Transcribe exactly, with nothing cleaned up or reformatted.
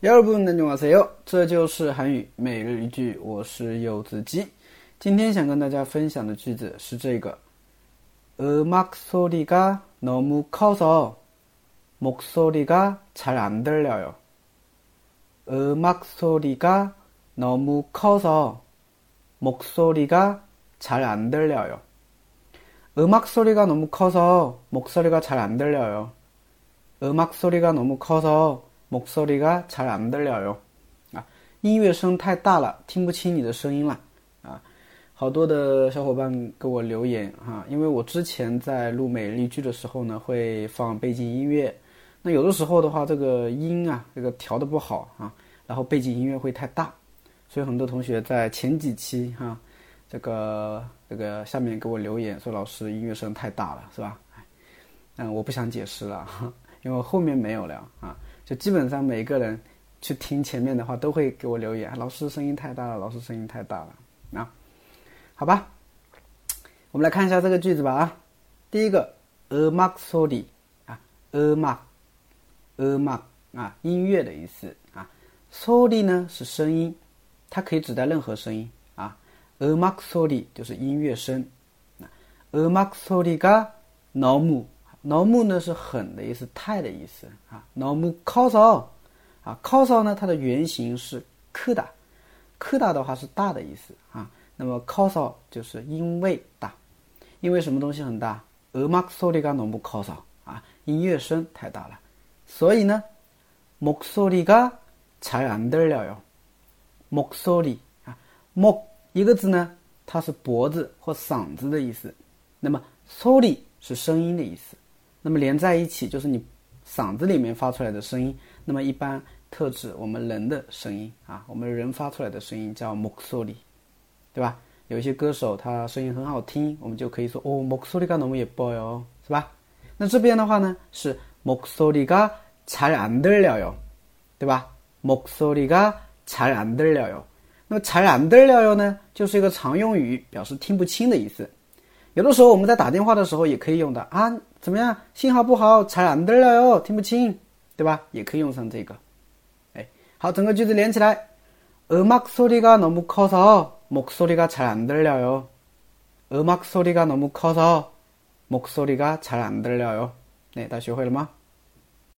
여러분 안녕하세요，这就是韩语每日一句，我是柚子鸡。今天想跟大家分享的句子是这个음악소리가 너무 커서 목소리가 잘 안 들려요. 음악소리가 너무 커서 목소리가 잘 안 들려요. 음악소리가 너무 커서 목소리가 잘 안 들려요. 음악소리가 너무 커서 목소리가 잘 안 들려요. 啊，音乐声太大了，听不清你的声音了。啊，好多的小伙伴给我留言哈，因为我之前在录每日一句的时候呢，会放背景音乐。那有的时候的话，这个音啊，这个调的不好啊，然后背景音乐会太大，所以很多同学在前几期哈，这个这个下面给我留言说老师音乐声太大了，是吧？嗯，我不想解释了，因为后面没有了啊。就基本上每个人去听前面的话都会给我留言，老师声音太大了，老师声音太大了啊。好吧，我们来看一下这个句子吧啊。第一个음악소리啊，음악 음악啊，音乐的意思啊。소리呢是声音，它可以指代任何声音啊。음악소리就是音乐声。음악소리가 너무 너무呢是很的意思，太的意思啊。너무 커서啊 커서呢它的原型是크다，크다的话是大的意思啊。那么 커서就是因为大，因为什么东西很大？음악소리가 너무 커서啊，音乐声太大了。所以呢，목소리가 잘 안 들려요。목소리啊，목一个字呢，它是脖子或嗓子的意思。那么소리是声音的意思。那么连在一起就是你嗓子里面发出来的声音，那么一般特指我们人的声音啊，我们人发出来的声音叫목소리，对吧？有一些歌手他声音很好听，我们就可以说哦목소리가 너무 예뻐요，是吧？那这边的话呢是목소리가 잘 안 들려요，对吧？목소리가 잘 안 들려요。那么잘 안 들려요呢，就是一个常用语，表示听不清的意思。有的时候我们在打电话的时候也可以用的啊，怎么样？信号不好，잘 안 들려요，听不清，对吧？也可以用上这个。哎，好，整个句子连起来。음악소리가 너무 커서 목소리가 잘 안 들려요. 음악소리가 너무 커서 목소리가 잘 안 들려요. 네, 다 学会了吗？